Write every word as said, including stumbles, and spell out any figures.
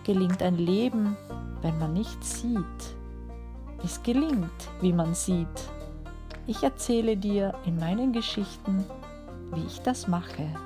gelingt ein Leben, wenn man nichts sieht. Es gelingt, wie man sieht. Ich erzähle dir in meinen Geschichten, wie ich das mache.